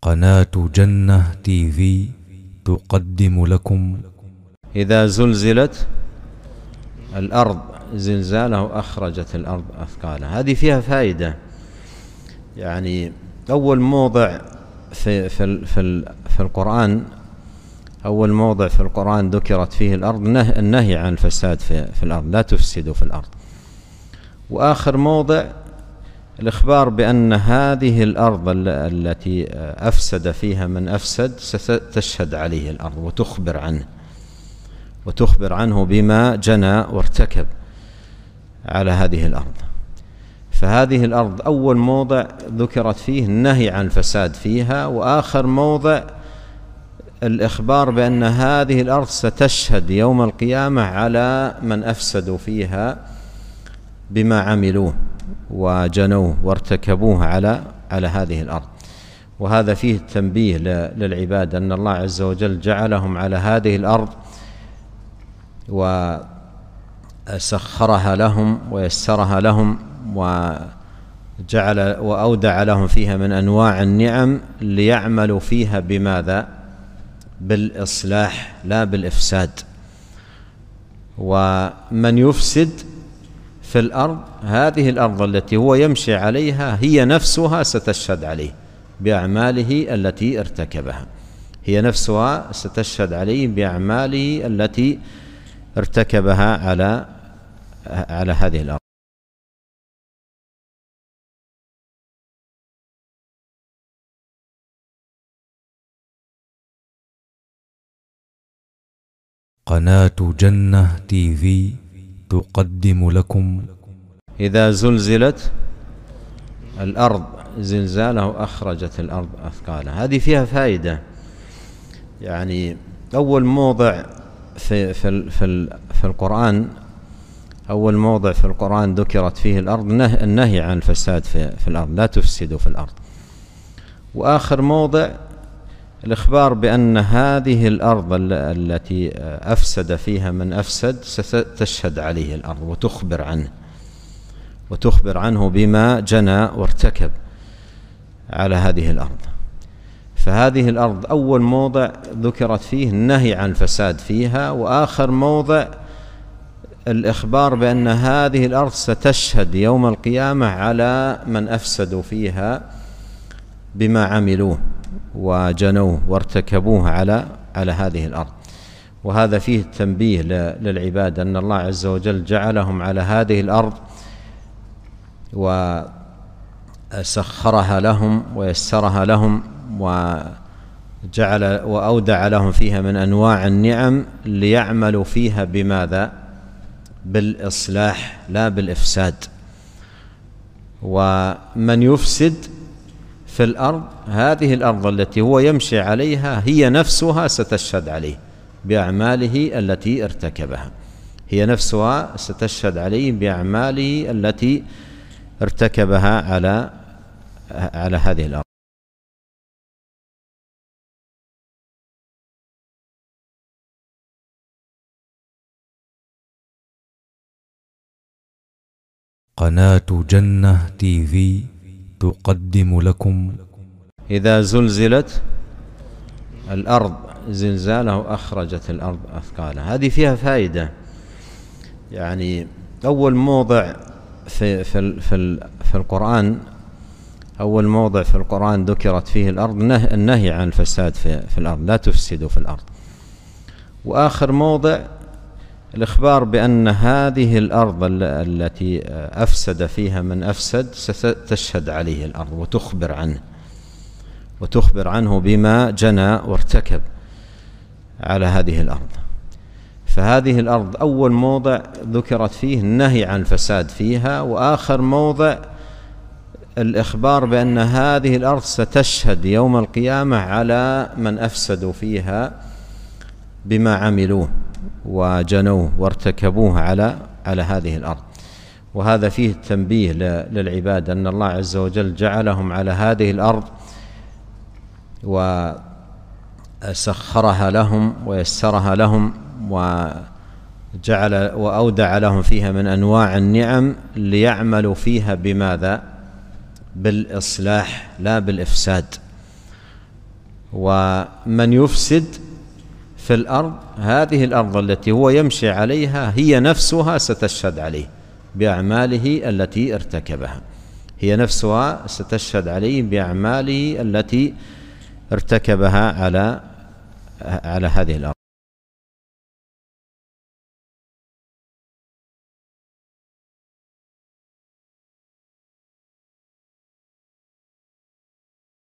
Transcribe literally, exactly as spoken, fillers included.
قناة جنة تي في تقدم لكم. إذا زلزلت الأرض زلزالها أخرجت الأرض أثقالها. هذه فيها فائدة. يعني أول موضع في في في, في القرآن أول موضع في القرآن ذكرت فيه الأرض النهي عن الفساد في, في الأرض، لا تفسدوا في الأرض. وآخر موضع الإخبار بأن هذه الأرض التي أفسد فيها من أفسد ستشهد عليه الأرض وتخبر عنه وتخبر عنه بما جنى وارتكب على هذه الأرض. فهذه الأرض أول موضع ذكرت فيه النهي عن الفساد فيها، وآخر موضع الإخبار بأن هذه الأرض ستشهد يوم القيامة على من أفسدوا فيها بما عملوه وجنوه وارتكبوه على على هذه الأرض. وهذا فيه تنبيه للعباد أن الله عز وجل جعلهم على هذه الأرض وسخرها لهم ويسرها لهم وجعل وأودع لهم فيها من أنواع النعم ليعملوا فيها بماذا؟ بالإصلاح لا بالإفساد. ومن يفسد في الأرض، هذه الأرض التي هو يمشي عليها هي نفسها ستشهد عليه بأعماله التي ارتكبها، هي نفسها ستشهد عليه بأعماله التي ارتكبها على على هذه الأرض. قناة جنة تي في تقدم لكم. إذا زلزلت الأرض زلزالها أخرجت الأرض أثقالها. هذه فيها فائدة. يعني أول موضع في في في, في القرآن أول موضع في القرآن ذكرت فيه الأرض النهي عن الفساد في, في الأرض، لا تفسدوا في الأرض. وآخر موضع الإخبار بأن هذه الأرض التي أفسد فيها من أفسد ستشهد عليه الأرض وتخبر عنه وتخبر عنه بما جنى وارتكب على هذه الأرض. فهذه الأرض أول موضع ذكرت فيه النهي عن الفساد فيها، وآخر موضع الإخبار بأن هذه الأرض ستشهد يوم القيامة على من أفسدوا فيها بما عملوه وجنوه وارتكبوه على على هذه الأرض. وهذا فيه تنبيه للعباد أن الله عز وجل جعلهم على هذه الأرض وسخرها لهم ويسرها لهم وجعل وأودع لهم فيها من أنواع النعم ليعملوا فيها بماذا؟ بالإصلاح لا بالإفساد. ومن يفسد في الأرض، هذه الأرض التي هو يمشي عليها هي نفسها ستشهد عليه بأعماله التي ارتكبها، هي نفسها ستشهد عليه بأعماله التي ارتكبها على على هذه الأرض. قناة جنة تي في تقدم لكم. إذا زلزلت الأرض زلزالها أخرجت الأرض أثقالها. هذه فيها فائدة. يعني أول موضع في في في, في القرآن أول موضع في القرآن ذكرت فيه الأرض النهي عن الفساد في, في الأرض، لا تفسدوا في الأرض. وآخر موضع الإخبار بأن هذه الأرض التي أفسد فيها من أفسد ستشهد عليه الأرض وتخبر عنه وتخبر عنه بما جنى وارتكب على هذه الأرض. فهذه الأرض أول موضع ذكرت فيه النهي عن الفساد فيها، وآخر موضع الإخبار بأن هذه الأرض ستشهد يوم القيامة على من أفسدوا فيها بما عملوه وجنوه وارتكبوه على على هذه الأرض. وهذا فيه تنبيه للعباد أن الله عز وجل جعلهم على هذه الأرض وسخرها لهم ويسرها لهم وجعل وأودع لهم فيها من أنواع النعم ليعملوا فيها بماذا؟ بالإصلاح لا بالإفساد. ومن يفسد في الأرض هذه الأرض التي هو يمشي عليها هي نفسها ستشهد عليه بأعماله التي ارتكبها، هي نفسها ستشهد عليه بأعماله التي ارتكبها على على هذه الأرض.